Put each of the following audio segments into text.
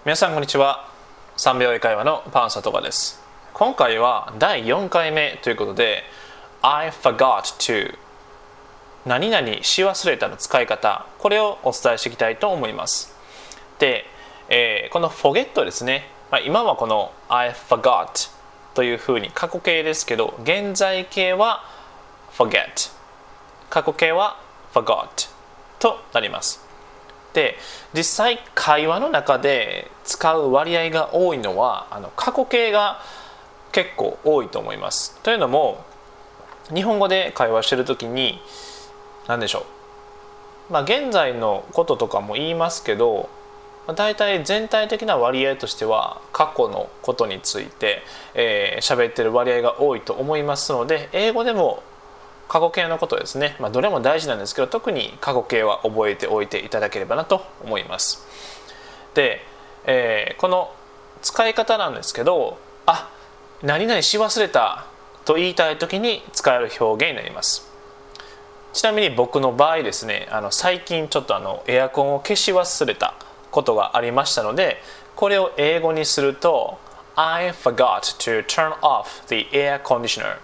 皆さんこんにちは。3秒英会話のパンサトガです。今回は第4回目ということで I forgot to 何々し忘れたの使い方、これをお伝えしていきたいと思います。で、この forget ですね、今はこの I forgot というふうに過去形ですけど、現在形は forget、 過去形は forgot となります。で、実際会話の中で使う割合が多いのは過去形が結構多いと思います。というのも日本語で会話してる時に何でしょう、現在のこととかも言いますけど、だいたい全体的な割合としては過去のことについて喋ってる割合が多いと思いますので、英語でも過去形のことですね、どれも大事なんですけど、特に過去形は覚えておいていただければなと思います。で、この使い方なんですけど、何々し忘れたと言いたい時に使える表現になります。ちなみに僕の場合ですね、最近ちょっとエアコンを消し忘れたことがありましたので、これを英語にすると I forgot to turn off the air conditioner.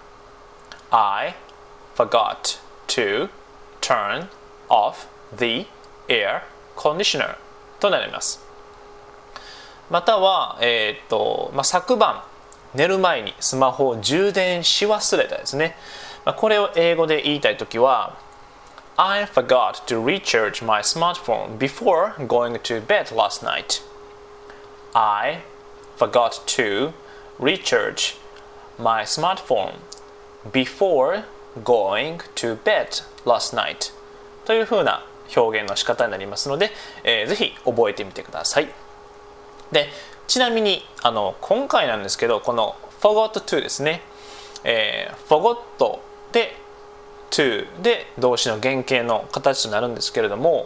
I forgot to turn off the air conditioner となります。または、昨晩寝る前にスマホを充電し忘れたですね。これを英語で言いたいときは I forgot to recharge my smartphone before going to bed last night. I forgot to recharge my smartphone before going to bed last night というふうな表現の仕方になりますので、ぜひ覚えてみてください。で、ちなみに今回なんですけど、この forgot to ですね、forgot で to で動詞の原型の形となるんですけれども、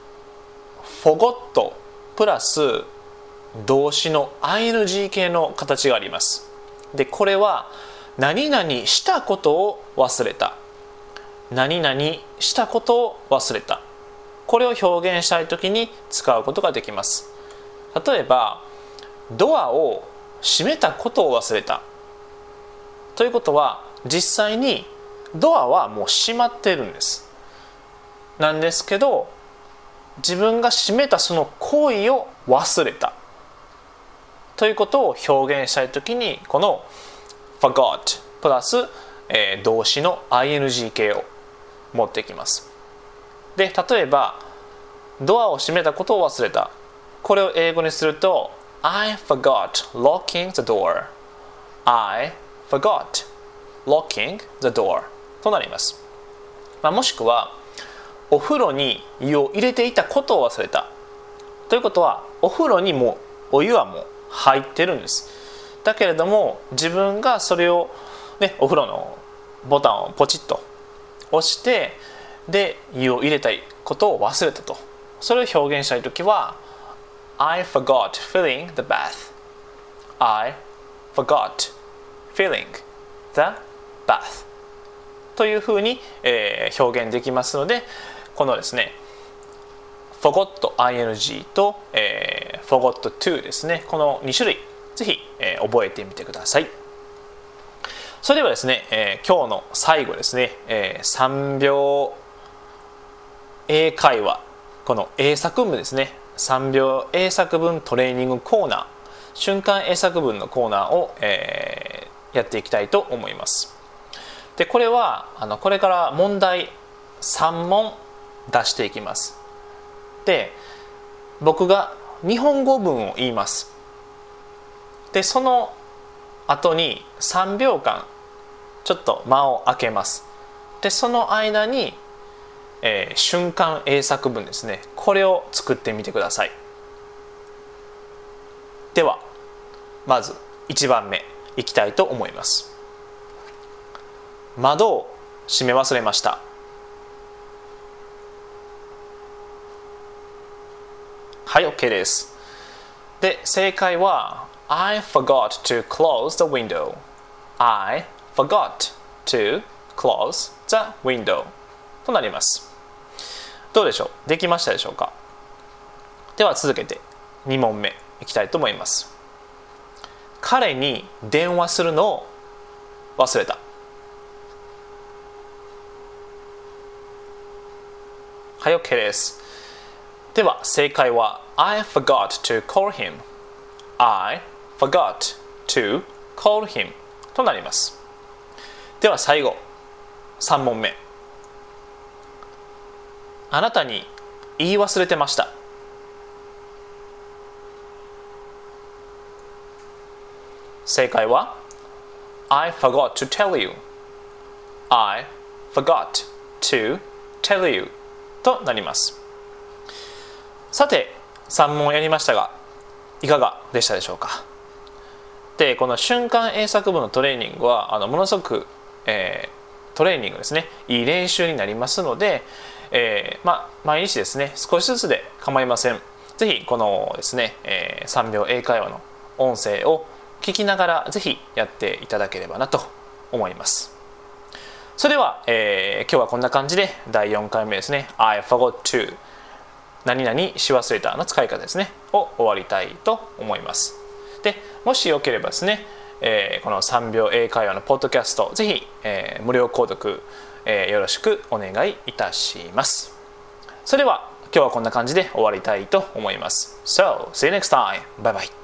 forgot プラス動詞の ing 形の形があります。で、これは何々したことを忘れた、何々したことを忘れた、これを表現したいときに使うことができます。例えばドアを閉めたことを忘れたということは、実際にドアはもう閉まっているんです。なんですけど、自分が閉めたその行為を忘れたということを表現したいときに、このforgot プラス、動詞の ing 形を持ってきます。で、例えばドアを閉めたことを忘れた、これを英語にすると I forgot locking the door. I forgot locking the door となります。もしくはお風呂に湯を入れていたことを忘れたということは、お風呂にもお湯はもう入ってるんです。だけれども自分がそれを、お風呂のボタンをポチッと押して、で湯を入れたいことを忘れたと、それを表現したいときは I forgot filling the bath. I forgot filling the bath というふうに、表現できますので、このですね forgot ing と、forgot to ですね、この2種類ぜひ、覚えてみてください。それではですね、今日の最後ですね、3秒英会話、この英作文ですね、3秒英作文トレーニングコーナー、瞬間英作文のコーナーを、やっていきたいと思います。で、これはこれから問題3問出していきます。で、僕が日本語文を言います。で、その後に3秒間ちょっと間を空けます。で、その間に、瞬間英作文ですね、これを作ってみてください。ではまず1番目いきたいと思います。窓を閉め忘れました。はい、 OK です。で、正解は I forgot to close the window. I forgot to close the window となります。どうでしょう、できましたでしょうか。では続けて2問目いきたいと思います。彼に電話するのを忘れた。はい、OK です。では正解は I forgot to call him I forgot to call him となります。では最後3問目。あなたに言い忘れてました。正解は I forgot to tell you I forgot to tell you となります。さて3問やりましたがいかがでしたでしょうか。でこの瞬間英作文のトレーニングはものすごく、トレーニングですね、いい練習になりますので、毎日ですね少しずつで構いません。ぜひこのですね、3秒英会話の音声を聞きながらぜひやっていただければなと思います。それでは、今日はこんな感じで第4回目ですね I forgot to 何々し忘れたの使い方ですねを終わりたいと思います。でもしよければですね、この3秒英会話のポッドキャストぜひ、無料購読、よろしくお願いいたします。それでは今日はこんな感じで終わりたいと思います。So, see you next time. Bye bye.